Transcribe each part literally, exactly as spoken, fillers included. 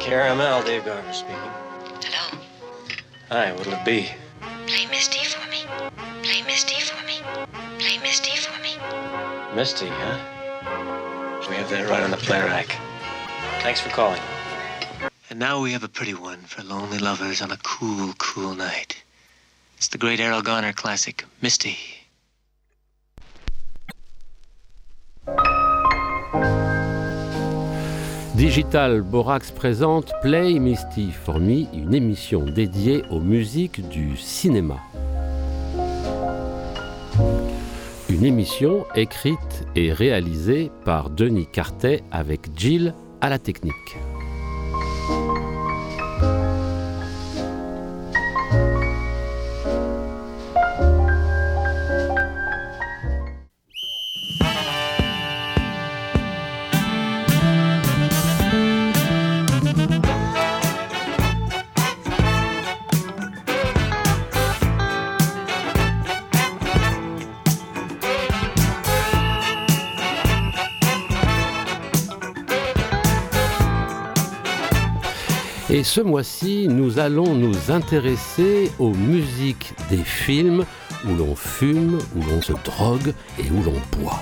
K R M L, Dave Garner speaking. Hello? Hi, what'll it be? Play Misty for me. Play Misty for me. Play Misty for me. Misty, huh? We have that right on the play rack. Thanks for calling. And now we have a pretty one for lonely lovers on a cool, cool night. It's the great Errol Garner classic, Misty. Digital Borax présente Play Misty for Me, une émission dédiée aux musiques du cinéma. Une émission écrite et réalisée par Denis Cartet avec Jill à la technique. Et ce mois-ci, nous allons nous intéresser aux musiques des films où l'on fume, où l'on se drogue et où l'on boit.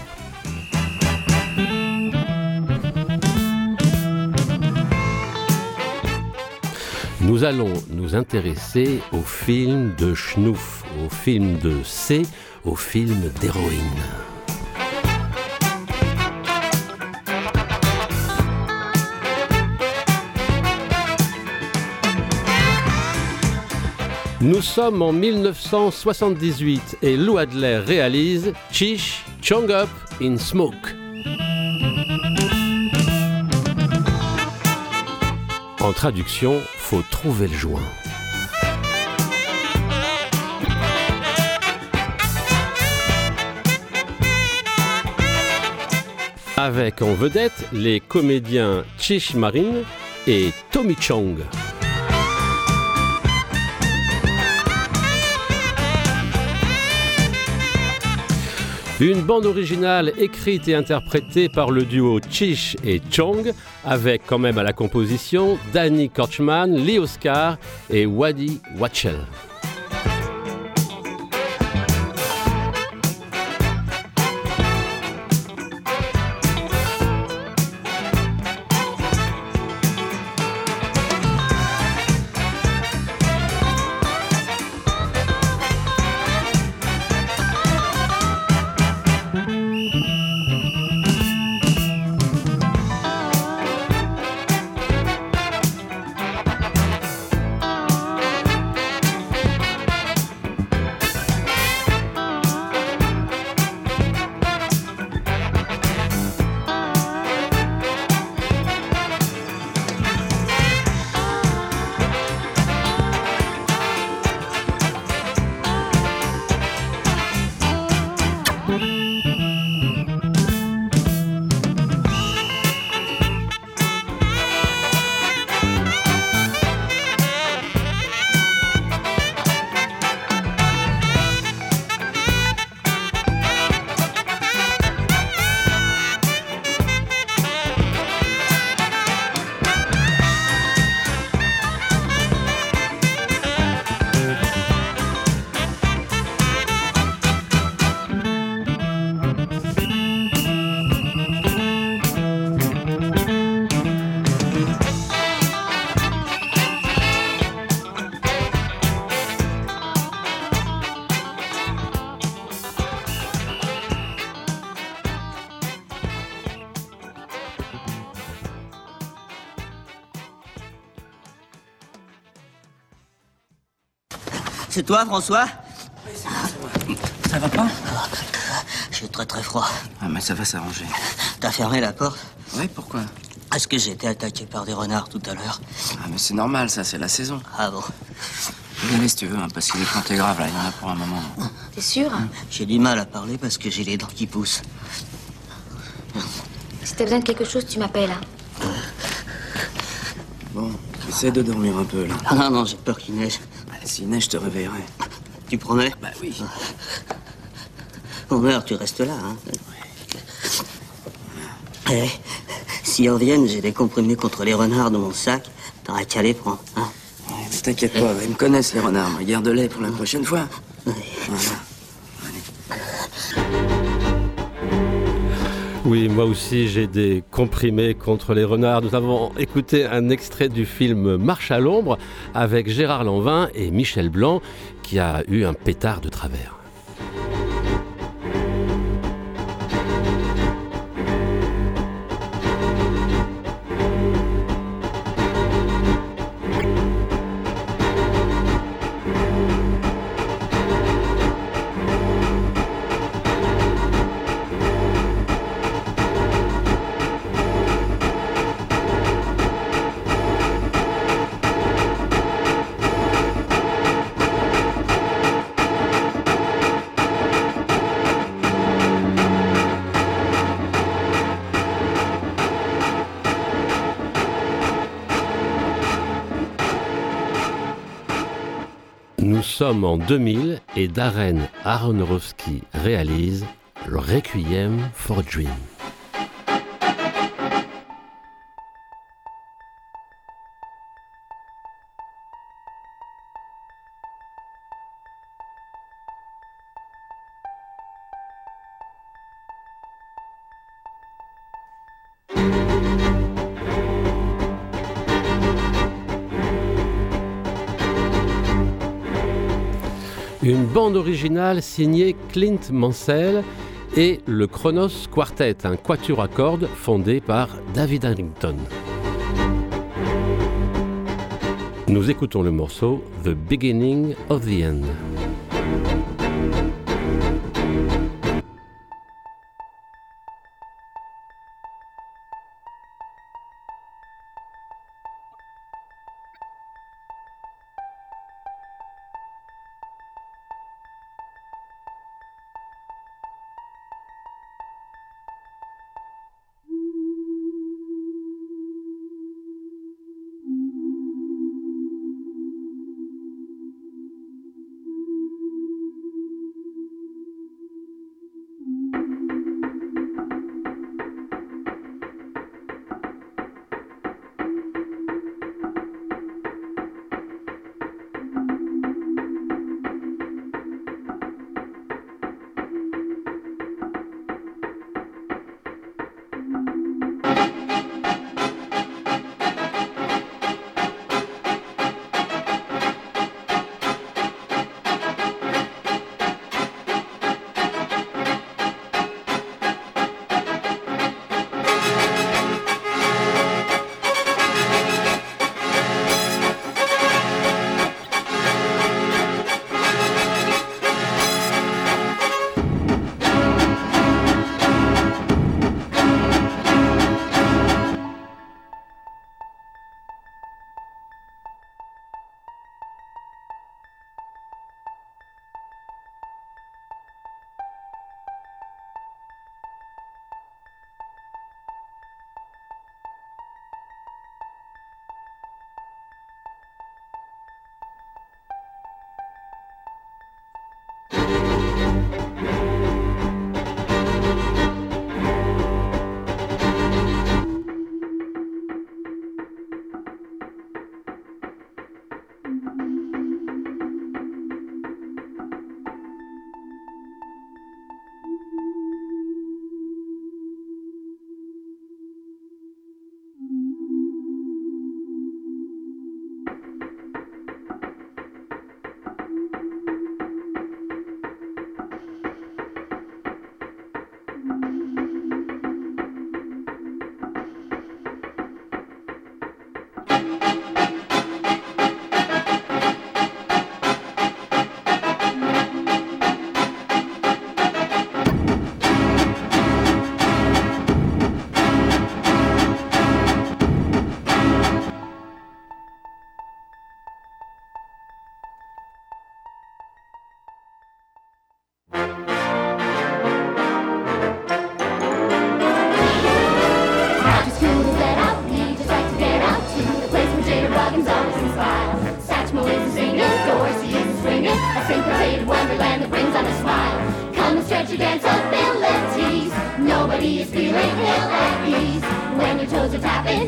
Nous allons nous intéresser aux films de schnouf, aux films de C, aux films d'héroïne. Nous sommes en mille neuf cent soixante-dix-huit et Lou Adler réalise Cheech Chong Up in Smoke. En traduction, faut trouver le joint. Avec en vedette les comédiens Cheech Marin et Tommy Chong. Une bande originale écrite et interprétée par le duo Cheech et Chong, avec quand même à la composition Danny Korchman, Lee Oscar et Waddy Wachtel. C'est toi, François? Oui, c'est moi. Ça va pas? J'ai très très froid. Ah, mais ça va s'arranger. T'as fermé la porte? Oui, pourquoi? Parce que j'ai été attaqué par des renards tout à l'heure. Ah, mais c'est normal, ça, c'est la saison. Ah bon? Venez si tu veux, hein, parce qu'il est planté grave, là, il y en a pour un moment. T'es sûr? Hein? J'ai du mal à parler parce que j'ai les dents qui poussent. Si t'as besoin de quelque chose, tu m'appelles. Hein. Bon, essaie de dormir un peu, là. Ah non, non, j'ai peur qu'il neige. Bah, s'il neige, je te réveillerai. Tu promets? Bah oui. On meurt, tu restes là, hein? Ouais. Eh, S'ils reviennent, j'ai des comprimés contre les renards dans mon sac. T'auras qu'à les prendre, hein. Ouais, mais t'inquiète pas, ils me connaissent les renards. Moi, garde-les pour la prochaine fois. Ouais. Voilà. Oui, moi aussi j'ai des comprimés contre les renards. Nous avons écouté un extrait du film Marche à l'ombre avec Gérard Lanvin et Michel Blanc qui a eu un pétard de travers. Nous sommes en deux mille et Darren Aronofsky réalise le Requiem for a Dream. Une bande originale signée Clint Mansell et le Kronos Quartet, un quatuor à cordes fondé par David Harrington. Nous écoutons le morceau The Beginning of the End.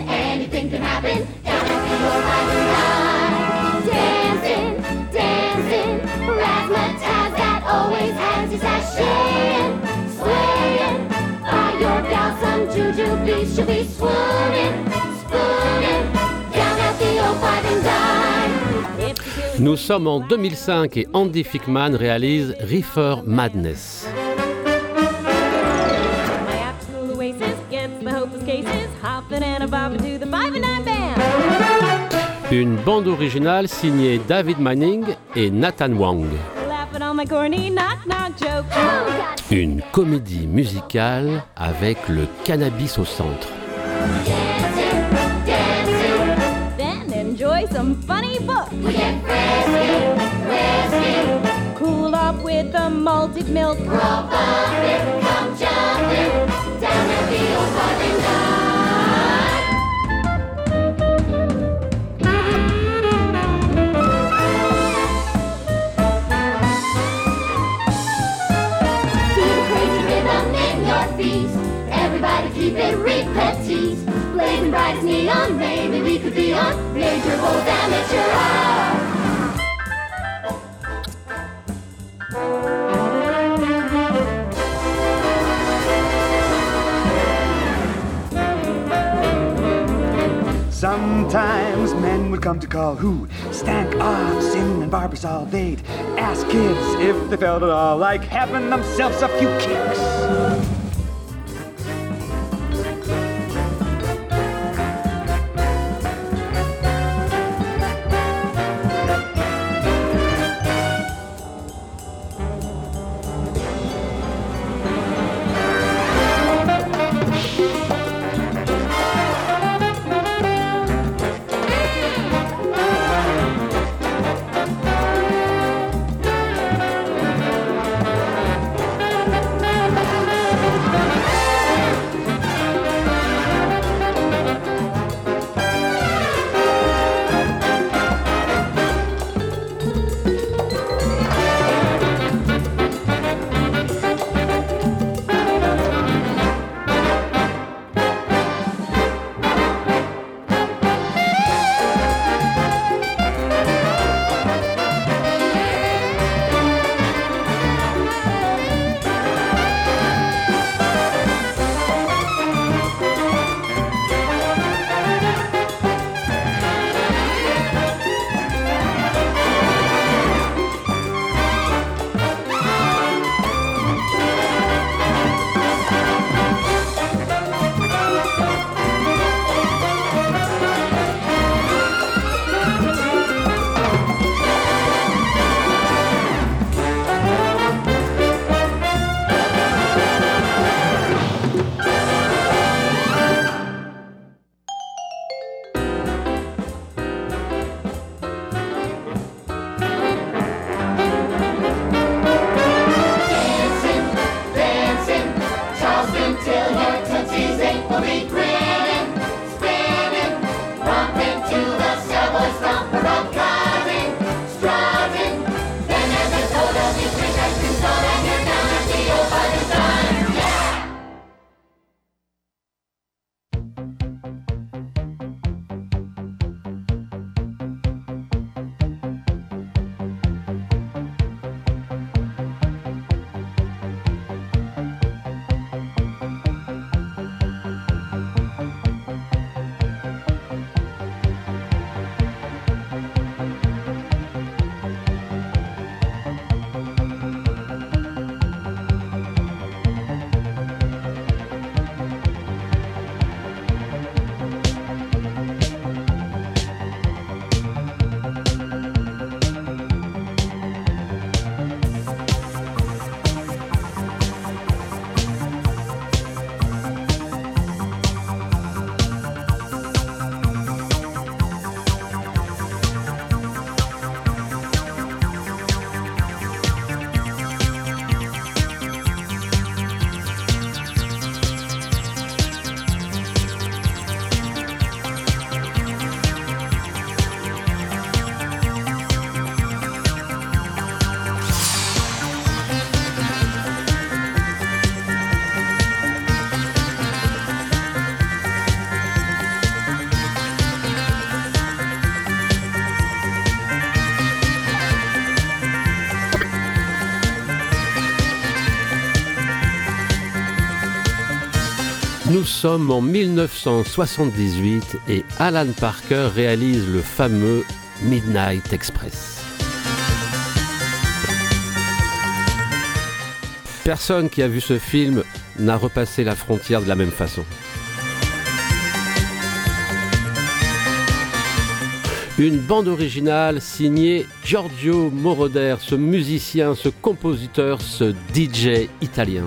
anything can happen. Down at the old fighting line. Dancing, dancing, razzmatazz that always has you sashaying, swaying. By your gal, some jujubee, she'll be swooning, spooning. Down at the old fighting line. Nous sommes en deux mille cinq et Andy Fickman réalise Reefer Madness. Une bande originale signée David Manning et Nathan Wang. Une comédie musicale avec le cannabis au centre. Enjoy some funny books. We get frisky, frisky. Cool off with the malted milk. We're all bumping, come jumping down at the old fighting line. Feel the crazy rhythm in your feet. Everybody keep it repeat. Blazing bright as neon, maybe we could be on major bold amateur hour. Sometimes men would come to call who stank off sin and Barbasol. They'd ask kids if they felt at all like having themselves a few kicks. Nous sommes en mille neuf cent soixante-dix-huit et Alan Parker réalise le fameux Midnight Express. Personne qui a vu ce film n'a repassé la frontière de la même façon. Une bande originale signée Giorgio Moroder, ce musicien, ce compositeur, ce D J italien.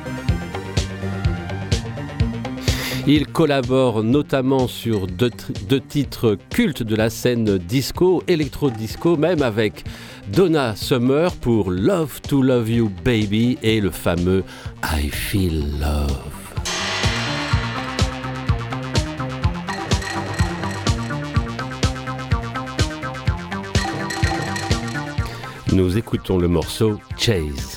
Il collabore notamment sur deux, deux titres cultes de la scène disco, électro-disco, même avec Donna Summer pour Love to Love You Baby et le fameux I Feel Love. Nous écoutons le morceau Chase.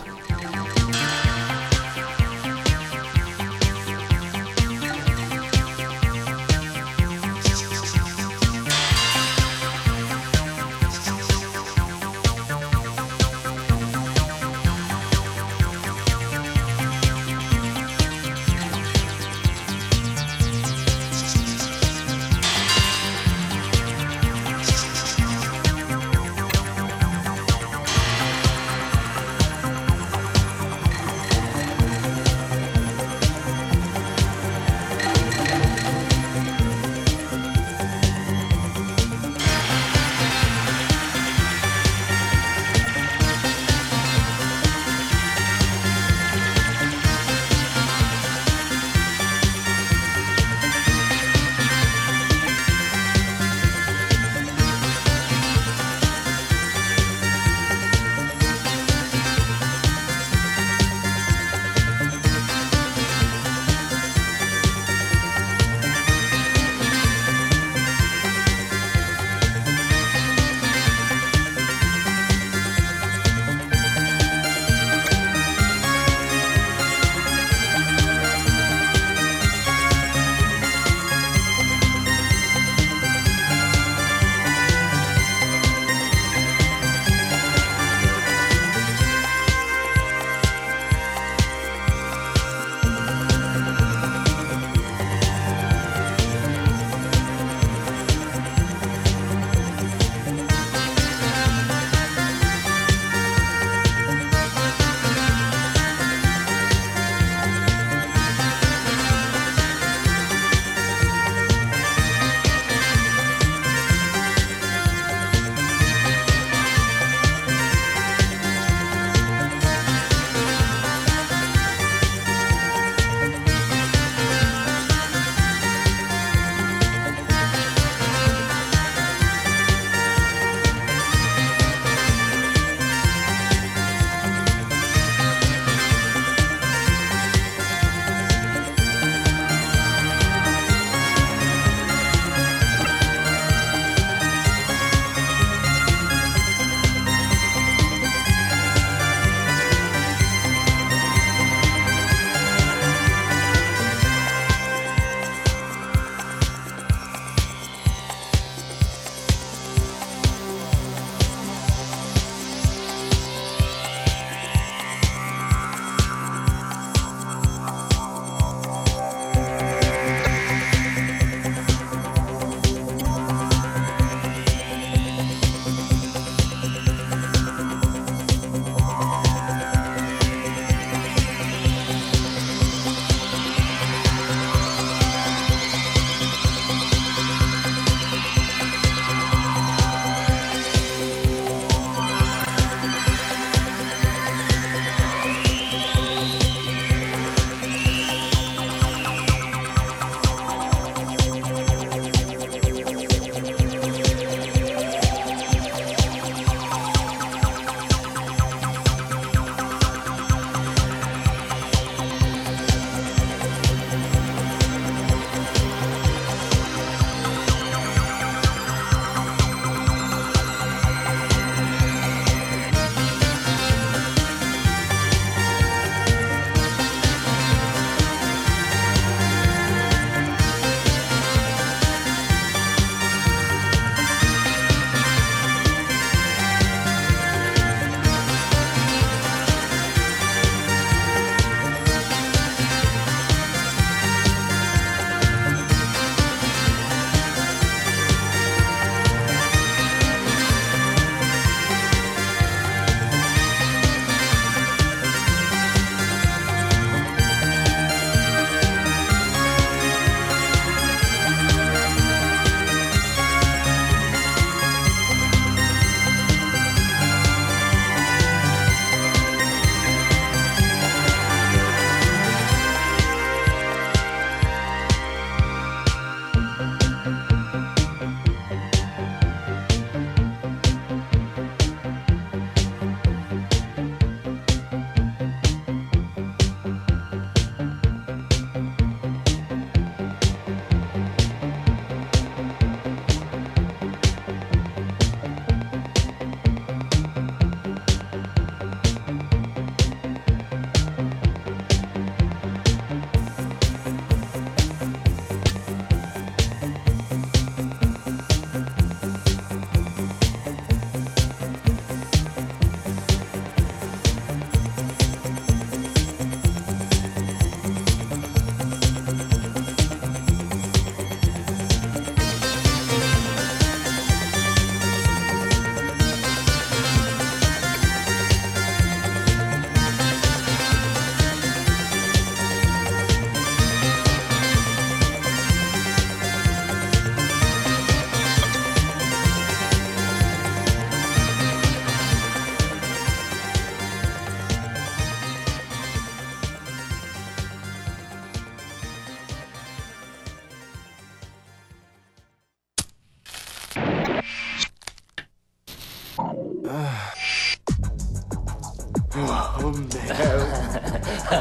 Oh merde.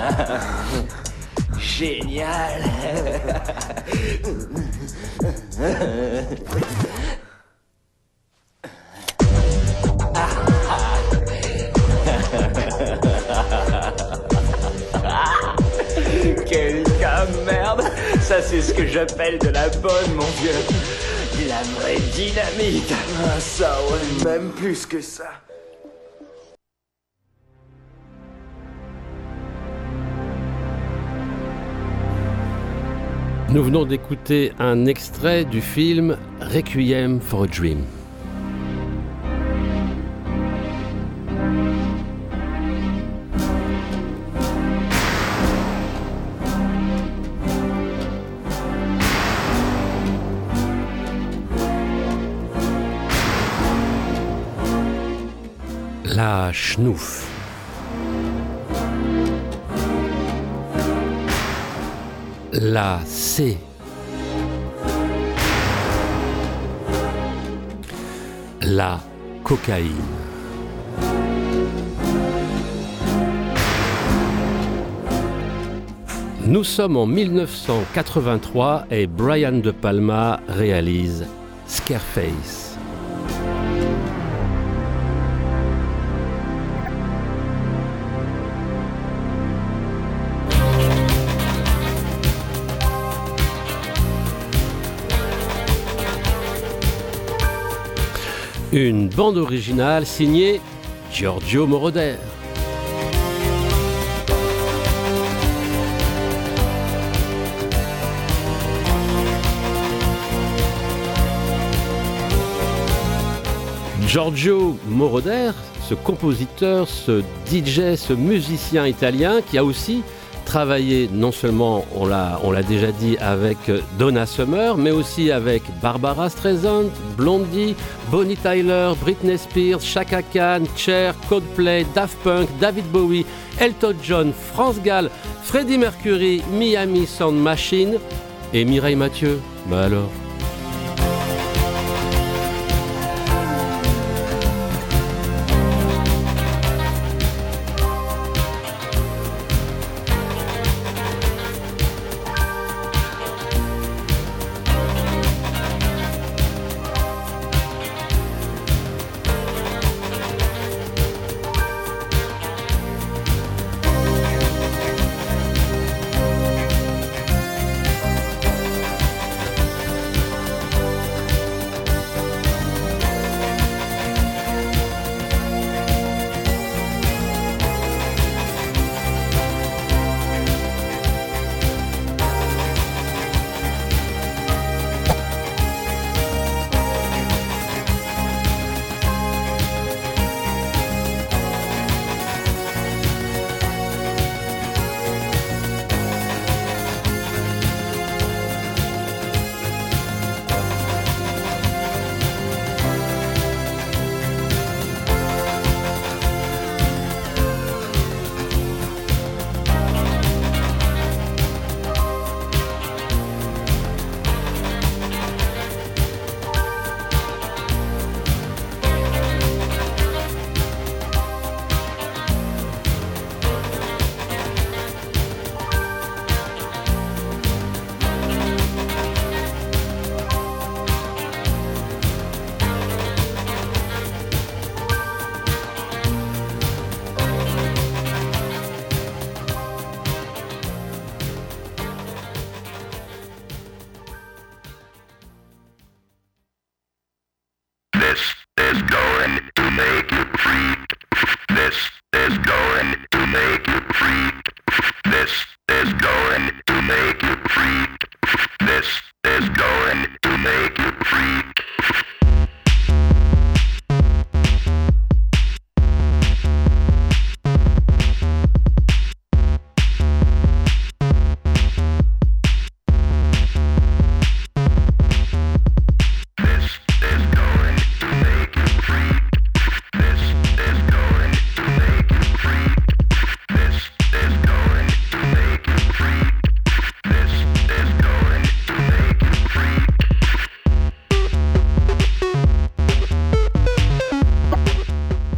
Génial. Quel cas merde. Ça c'est ce que j'appelle de la bonne, mon vieux. De la vraie dynamite. Ah ça ouais, même plus que ça. Nous venons d'écouter un extrait du film Requiem for a Dream. La schnouf. La C. La cocaïne. Nous sommes en mille neuf cent quatre-vingt-trois et Brian De Palma réalise Scarface. Une bande originale signée Giorgio Moroder. Giorgio Moroder, ce compositeur, ce D J, ce musicien italien qui a aussi travaillé non seulement, on l'a, on l'a déjà dit, avec Donna Summer, mais aussi avec Barbara Streisand, Blondie, Bonnie Tyler, Britney Spears, Chaka Khan, Cher, Coldplay, Daft Punk, David Bowie, Elton John, France Gall, Freddie Mercury, Miami Sound Machine et Mireille Mathieu. Bah alors.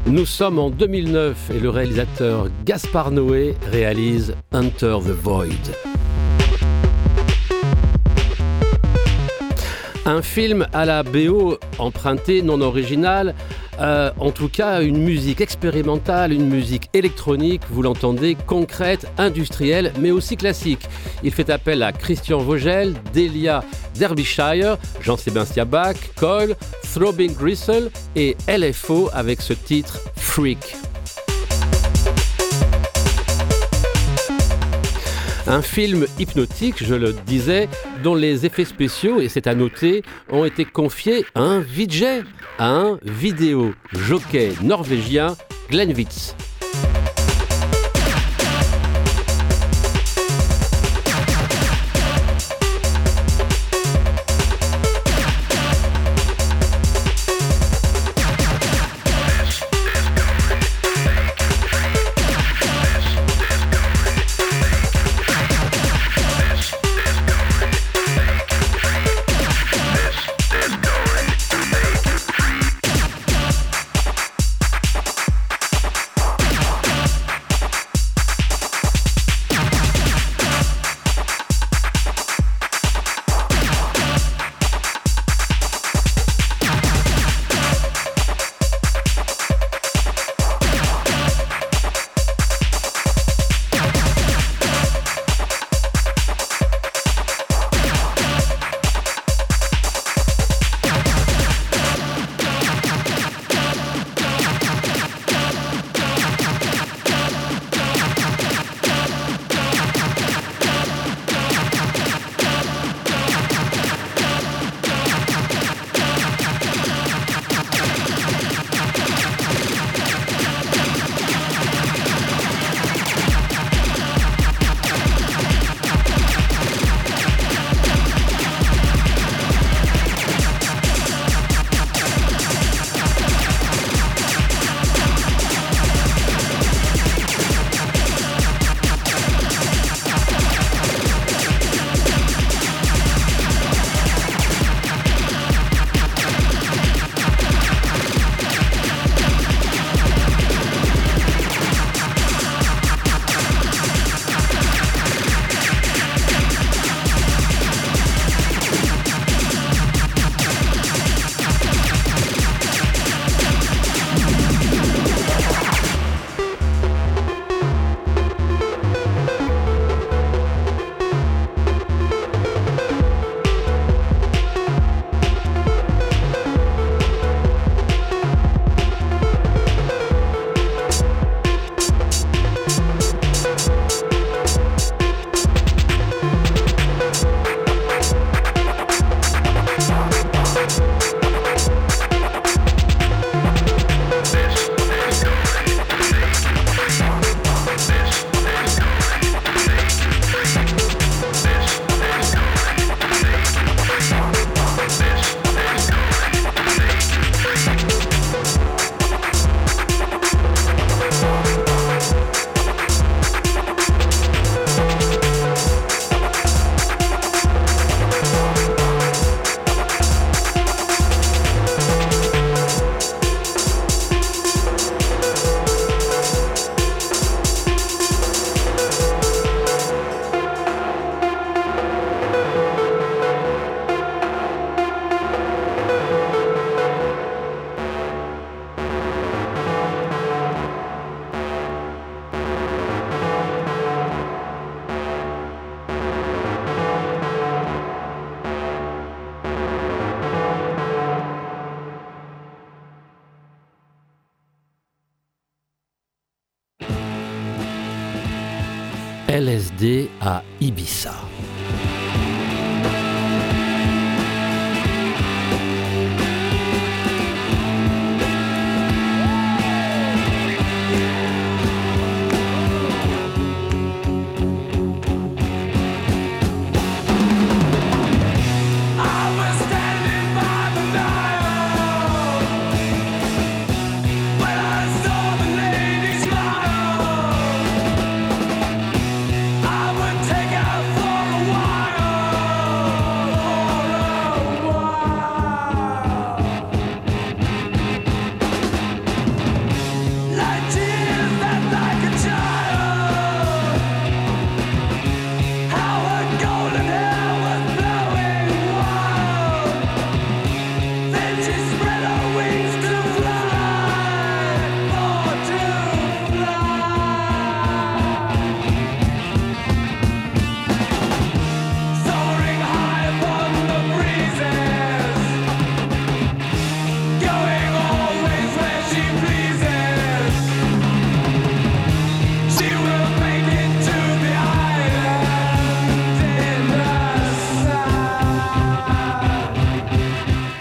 Nous sommes en deux mille neuf et le réalisateur Gaspard Noé réalise Enter the Void. Un film à la B O empruntée, non originale, euh, en tout cas une musique expérimentale, une musique électronique, vous l'entendez, concrète, industrielle, mais aussi classique. Il fait appel à Christian Vogel, Delia Derbyshire, Jean-Sébastien Bach, Cole, Throbbing Gristle et L F O avec ce titre Freak. Un film hypnotique, je le disais, dont les effets spéciaux, et c'est à noter, ont été confiés à un V J, à un vidéo jockey norvégien, Glenn Witz. L S D à Ibiza. Take out for a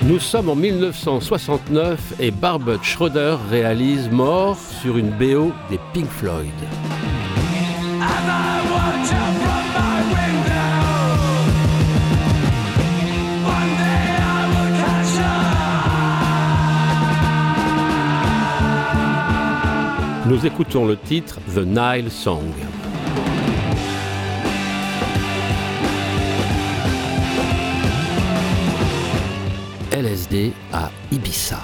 Nous sommes en mille neuf cent soixante-neuf et Barbet Schroeder réalise Mort sur une B O des Pink Floyd. Nous écoutons le titre The Nile Song. L S D à Ibiza.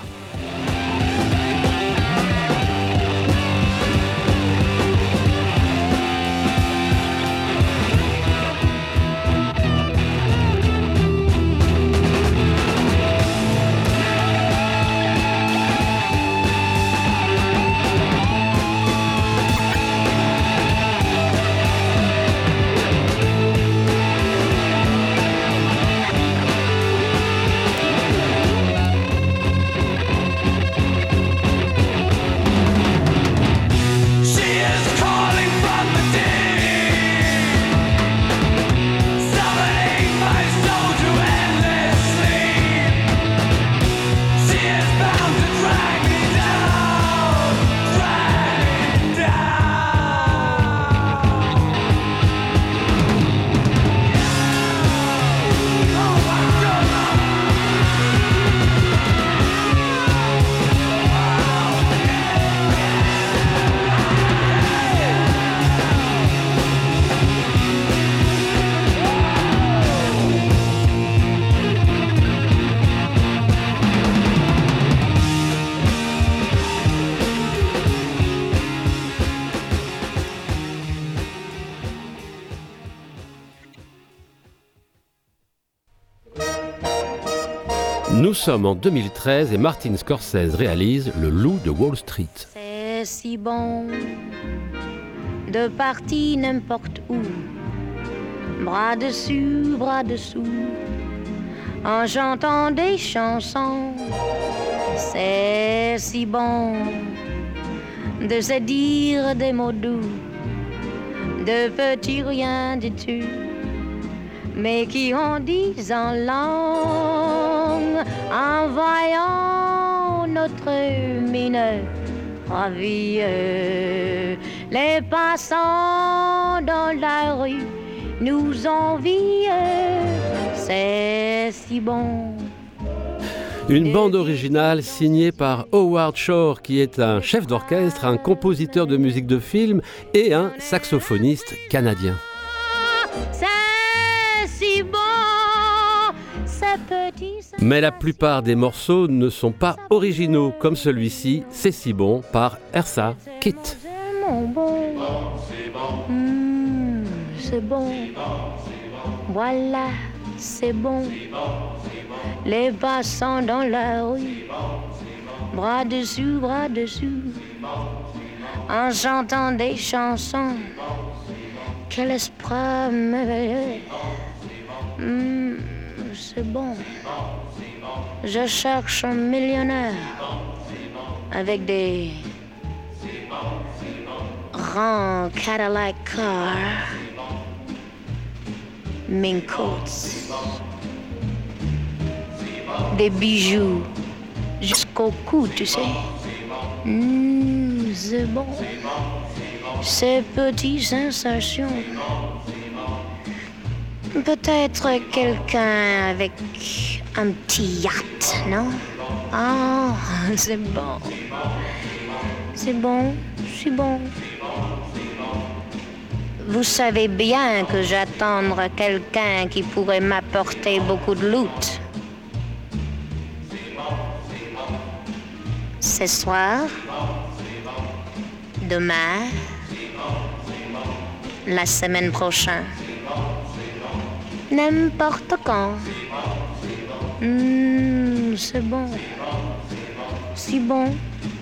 Nous sommes en deux mille treize et Martin Scorsese réalise Le Loup de Wall Street. C'est si bon de partir n'importe où, bras dessus, bras dessous, en chantant des chansons. C'est si bon de se dire des mots doux, de petits rien du tout, mais qui en disent en langue, en voyant notre mine ravie. Les passants dans la rue nous envient, c'est si bon. Une bande originale signée par Howard Shore, qui est un chef d'orchestre, un compositeur de musique de film et un saxophoniste canadien. Mais la plupart des morceaux ne sont pas originaux, comme celui-ci, C'est si bon, par Eartha Kitt. Mmh, c'est bon, voilà, c'est bon. Les passants dans la rue, bras dessus, bras dessous, en chantant des chansons. Quel esprit merveilleux. Mmh, c'est bon. Je cherche un millionnaire avec des grands Cadillac cars, mink coats, des bijoux jusqu'au cou, tu sais. Mmh, c'est bon. Ces petites sensations. Peut-être quelqu'un avec un petit yacht, non? Ah, oh, c'est bon. C'est bon, c'est bon. Vous savez bien que j'attends quelqu'un qui pourrait m'apporter beaucoup de loot. Ce soir, demain, la semaine prochaine. N'importe quand. Mmh, c'est bon. Si bon.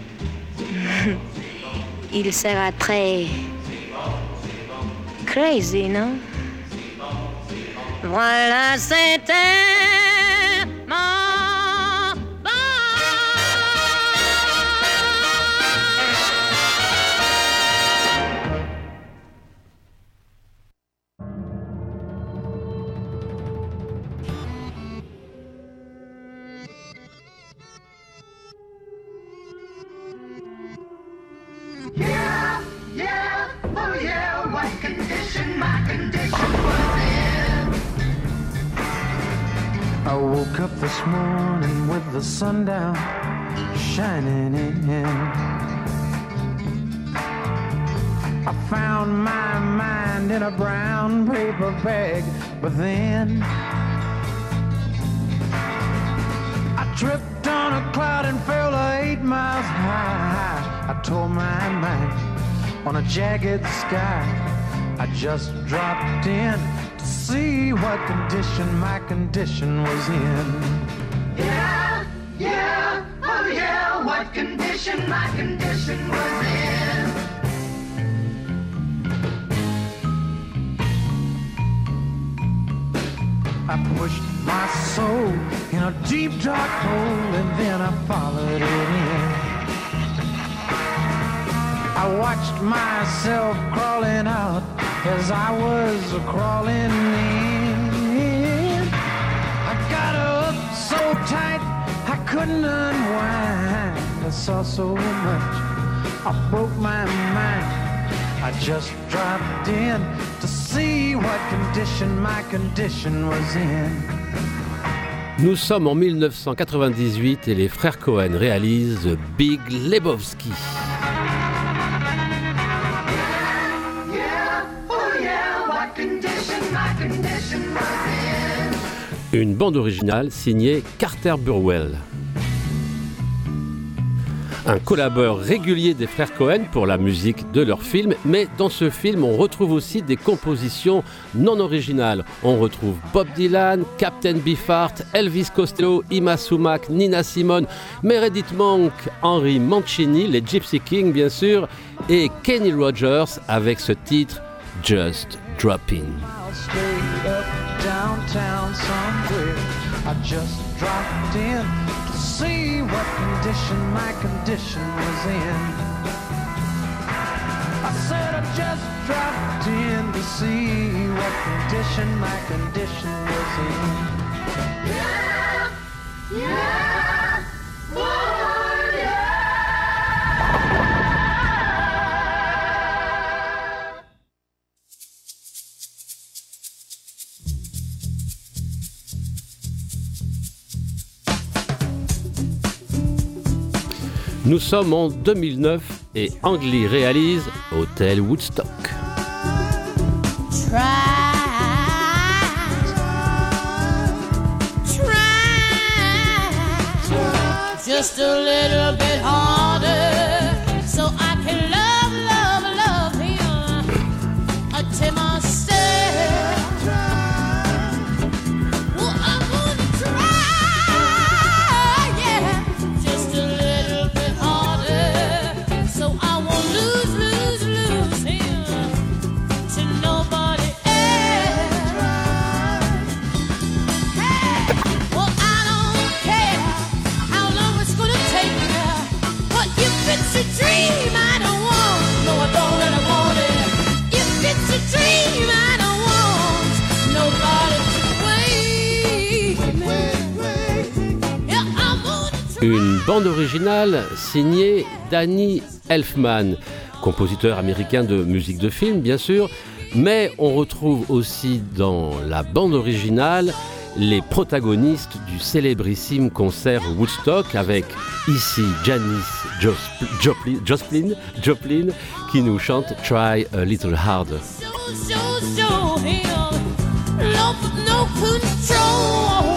Il sera très crazy, non? Voilà, c'était mon bon. I woke up this morning with the sun down shining in. I found my mind in a brown paper bag, but then I tripped on a cloud and fell eight miles high. I tore my mind on a jagged sky. I just dropped in to see what condition my condition was in. Yeah, yeah, oh yeah, what condition my condition was in. I pushed my soul in a deep dark hole and then I followed it in. I watched myself crawling out as I was crawling in. I got up so tight I couldn't unwind. I saw so much, I broke my mind. I just dropped in to see what condition my condition was in. Nous sommes en mille neuf cent quatre-vingt-dix-huit et les frères Cohen réalisent The Big Lebowski. Une bande originale signée Carter Burwell. Un collaborateur régulier des frères Cohen pour la musique de leur film, mais dans ce film, on retrouve aussi des compositions non originales. On retrouve Bob Dylan, Captain Beefheart, Elvis Costello, Ima Sumac, Nina Simone, Meredith Monk, Henry Mancini, les Gypsy Kings bien sûr, et Kenny Rogers avec ce titre Just Drop In. Downtown somewhere, I just dropped in to see what condition my condition was in. I said I just dropped in to see what condition my condition was in. Yeah, yeah, oh yeah. Nous sommes en deux mille neuf et Ang Lee réalise Hotel Woodstock. Try, try, just a little bit harder, so I can love, love, love him until myself. Well, I'm gonna try, yeah, just a little bit harder, so I won't lose, lose, lose him to nobody else. Hey, well, I don't care how long it's gonna take me, but if it's a dream I don't want, no, I don't really want it. If it's a dream I don't want nobody to wait. Yeah, I'm gonna try. Une bande originale signée Danny Elfman, compositeur américain de musique de film bien sûr, mais on retrouve aussi dans la bande originale les protagonistes du célébrissime concert Woodstock avec ici Janis Joplin, Joplin, Joplin qui nous chante Try a Little Harder. So, so, so him, no, no control.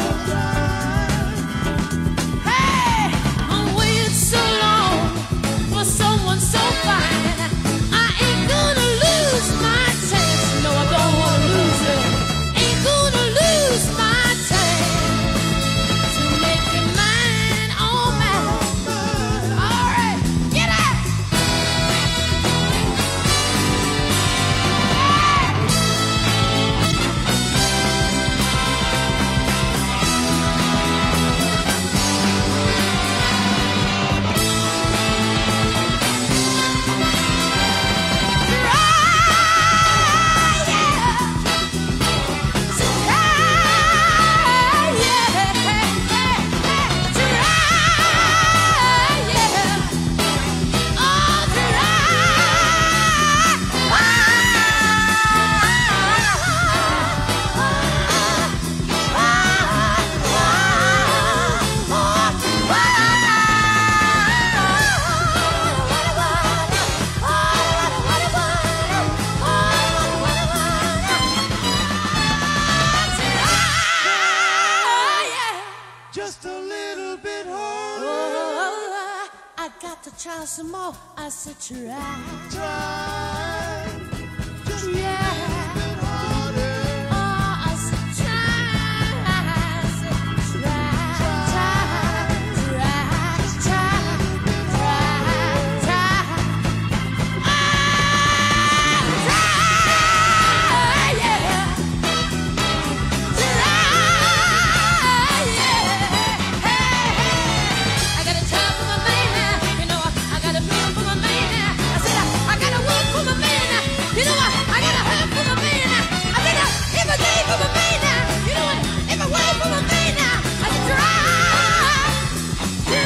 Hey, I'm waiting so long for someone so fine. I ain't gonna lose my chance. No, I don't wanna lose it. Ain't gonna lose my chance to make you mine, oh man. All right, get out. Hey. a little bit harder. Oh, I got to try some more. I said try, Try, just yeah. a little bit harder. Oh, I said try, I said try, try, try, try, try, try. Ah, try, yeah. Try, yeah. Hey, hey. I got a time for my man, you know. I got a plan for my man. I said I, I got a work for my man. You know what? I got a hurt for my man. I said I, if a day for my man. You know what? If a way for my man. I said try, try,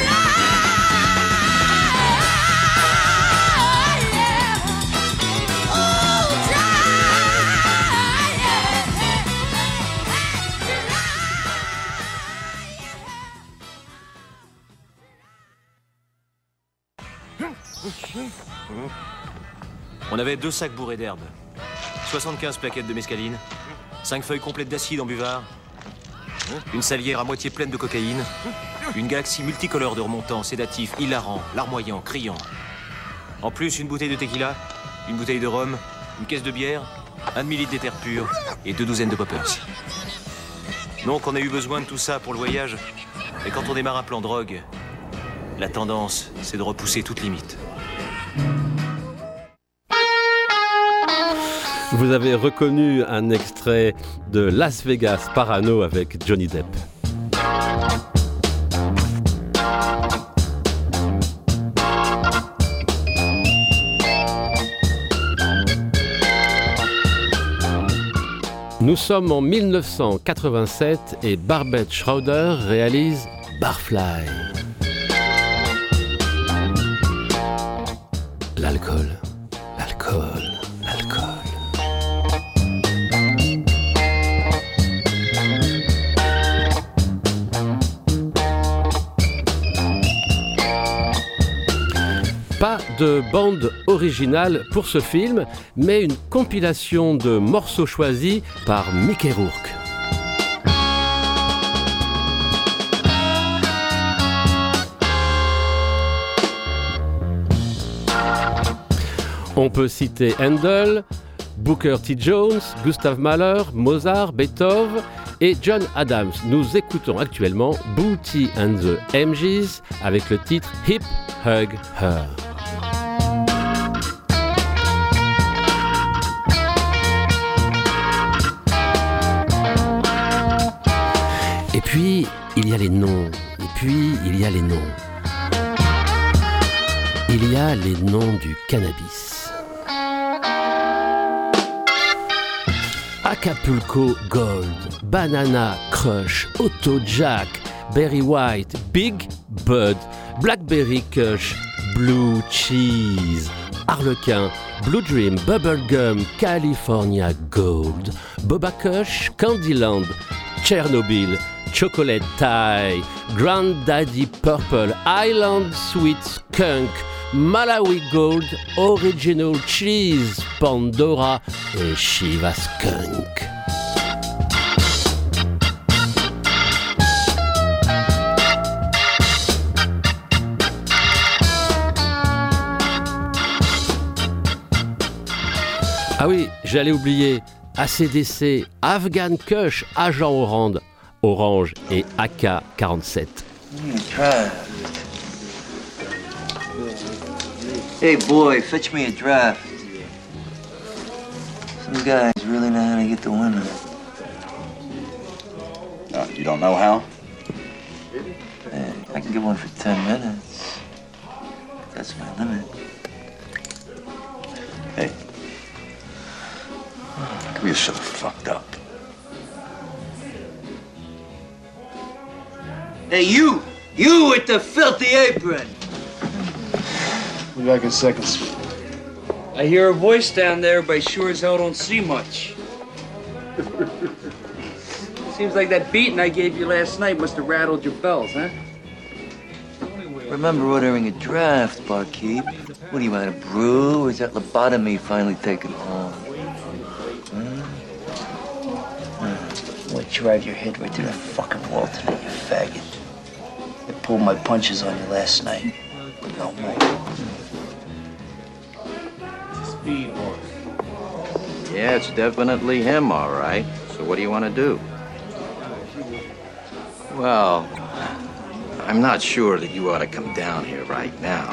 yeah. Oh, try, On avait deux sacs bourrés d'herbes, soixante-quinze plaquettes de mescaline, cinq feuilles complètes d'acide en buvard, une salière à moitié pleine de cocaïne, une galaxie multicolore de remontants, sédatifs, hilarants, larmoyants, criants. En plus, une bouteille de tequila, une bouteille de rhum, une caisse de bière, un demi-litre d'éther pur et deux douzaines de poppers. Donc on a eu besoin de tout ça pour le voyage. Et quand on démarre un plan drogue, la tendance, c'est de repousser toute limite. Vous avez reconnu un extrait de Las Vegas Parano avec Johnny Depp. Nous sommes en mille neuf cent quatre-vingt-sept et Barbet Schroeder réalise Barfly. L'alcool, l'alcool, l'alcool. Pas de bande originale pour ce film, mais une compilation de morceaux choisis par Mickey Rourke. On peut citer Handel, Booker T. Jones, Gustav Mahler, Mozart, Beethoven et John Adams. Nous écoutons actuellement Booty and the M Gs avec le titre Hip Hug Her. Et puis, il y a les noms. Et puis, il y a les noms. Il y a les noms du cannabis. Acapulco Gold, Banana Crush, Auto Jack, Berry White, Big Bud, Blackberry Kush, Blue Cheese, Harlequin, Blue Dream, Bubblegum, California Gold, Boba Kush, Candyland, Chernobyl, Chocolate Thai, Granddaddy Purple, Island Sweet Skunk, Malawi Gold, Original Cheese, Pandora et Shiva Skunk. Ah oui, j'allais oublier, A C D C, Afghan Kush, Agent Orange, Orange et A K quarante-sept. Hey boy, fetch me a draft. Some guys really know how to get the women. Uh, you don't know how? Man, I can get one for ten minutes. That's my limit. Hey. You're so fucked up. Hey, you! You with the filthy apron! We're back in second suite. I hear a voice down there, but I sure as hell don't see much. Seems like that beating I gave you last night must have rattled your bells, huh? Remember ordering a draft, barkeep. What do you want, a brew, or is that lobotomy finally taken home? Hmm? Hmm. What, drive your head right to the fucking wall tonight, you faggot? pulled my punches on you last night, but no more. Speed horse. Yeah, it's definitely him, all right. So what do you want to do? Well, I'm not sure that you ought to come down here right now.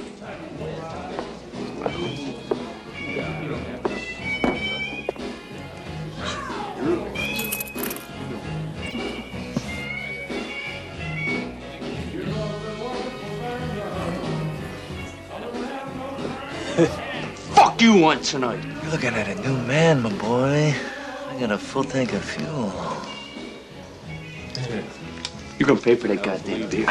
Fuck you want tonight. You're looking at a new man, my boy. I got a full tank of fuel. You're gonna pay for that goddamn beer.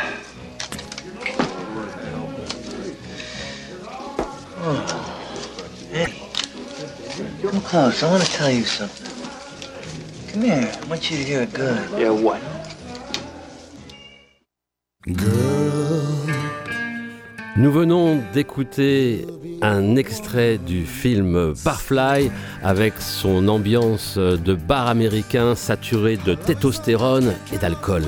Oh. Hey, come close. I want to tell you something. Come here. I want you to hear it good. Yeah, what? Nous venons d'écouter un extrait du film Barfly avec son ambiance de bar américain saturé de testostérone et d'alcool.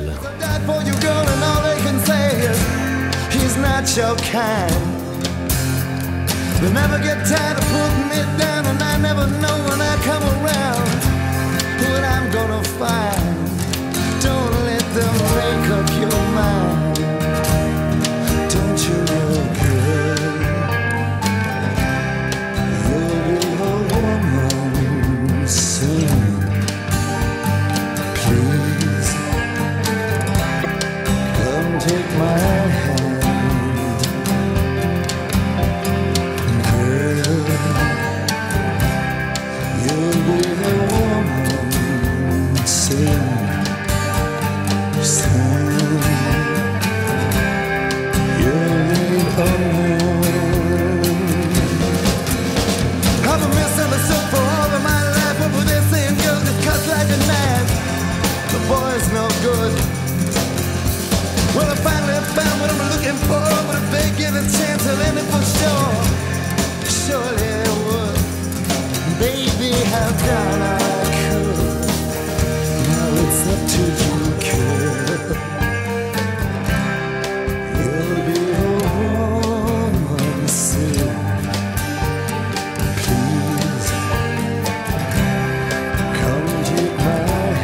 They never get tired of putting me down, and I never know when I come around what I'm gonna find. Don't let them make up your mind. Don't you look good? You'll be a woman soon. Please come take my hand. Boy's no good. Well, I finally found what I'm looking for, but if they get a chance, I'll end it for sure. Surely I would. Baby, how down I could. Now it's up to you, kid. You'll be a woman soon. Please, come take my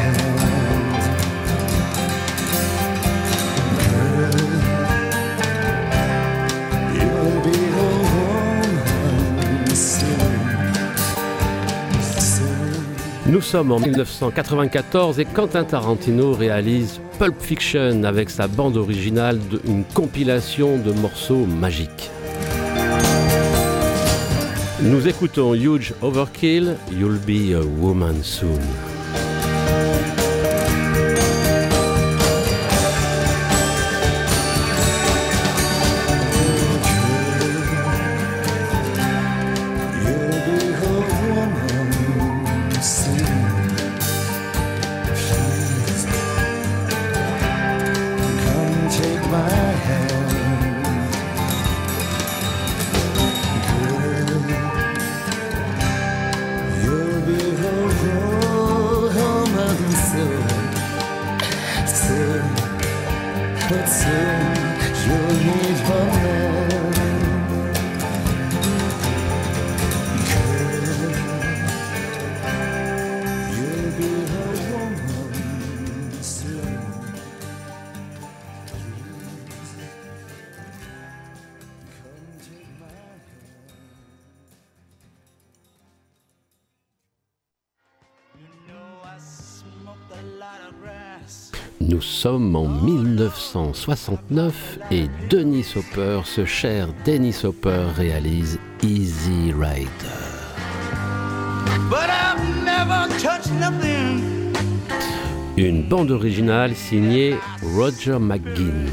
Nous sommes en dix-neuf cent quatre-vingt-quatorze et Quentin Tarantino réalise Pulp Fiction avec sa bande originale d'une compilation de morceaux magiques. Nous écoutons Huge Overkill, You'll Be a Woman Soon. Nous sommes en dix-neuf cent soixante-neuf et Dennis Hopper, ce cher Dennis Hopper, réalise Easy Rider. But I've never touched nothing. Une bande originale signée Roger McGuinn.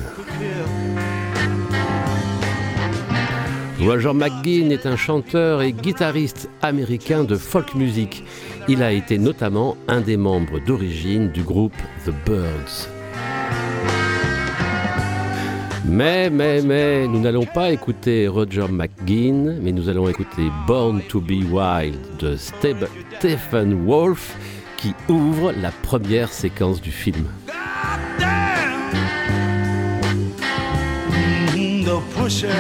Roger McGuinn est un chanteur et guitariste américain de folk music. Il a été notamment un des membres d'origine du groupe The Byrds. Mais, mais, mais, nous n'allons pas écouter Roger McGuinn, mais nous allons écouter Born to be Wild de Stephen Wolf, qui ouvre la première séquence du film. pusher.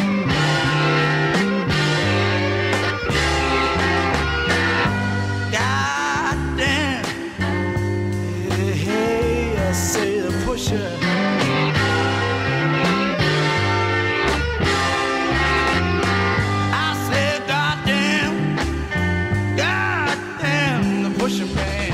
Goddamn. Hey, hey, I say the pusher. I said, goddamn, goddamn, the pusher man.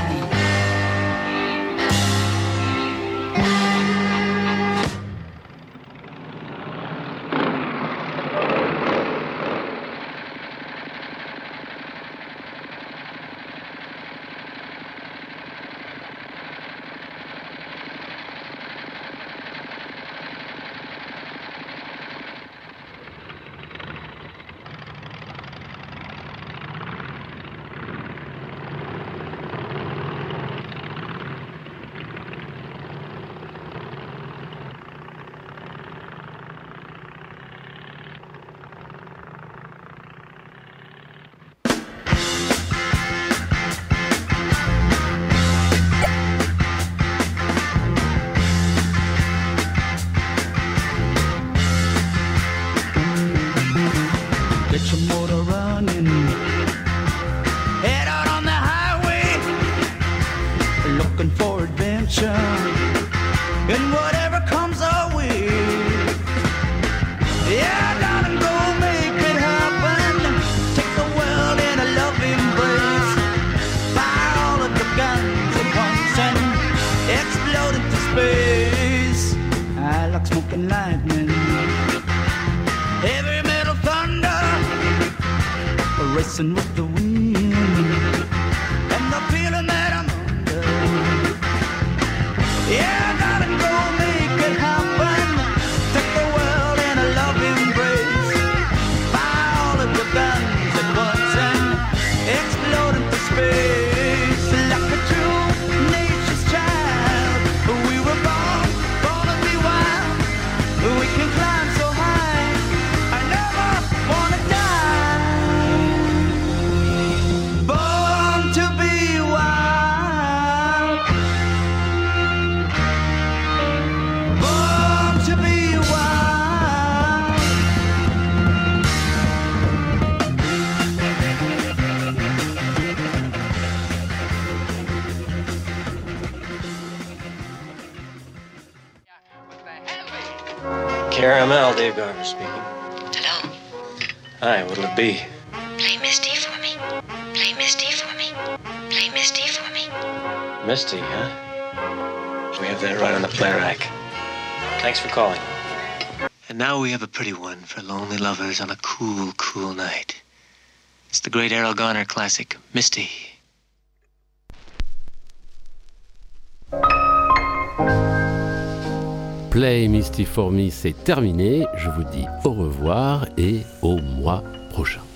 Get your motor running. Head out on the highway, looking for adventure and whatever comes our way. Yeah, darling, go make it happen. Take the world in a loving embrace. Fire all of your guns at once and explode into space. I like smoking lightning. Heavy metal thunder, racing with the wind, and the feeling that I'm under. Yeah, darling, go make it happen. Take the world in a loving embrace. Fire all of your guns at once and explode into space. Like a true nature's child, we were born, born to be wild. We can climb so high, I never wanna die. Born to be wild. Born to be wild. Caramel, Dave Garver speaking. Hello? Hi, what'll it be? Play Misty for me. Play Misty for me. Play Misty for me. Misty, huh? We have that right on the play rack. Thanks for calling. And now we have a pretty one for lonely lovers on a cool, cool night. It's the great Errol Garner classic, Misty. Play Misty for Me, c'est terminé. Je vous dis au revoir et au mois prochain.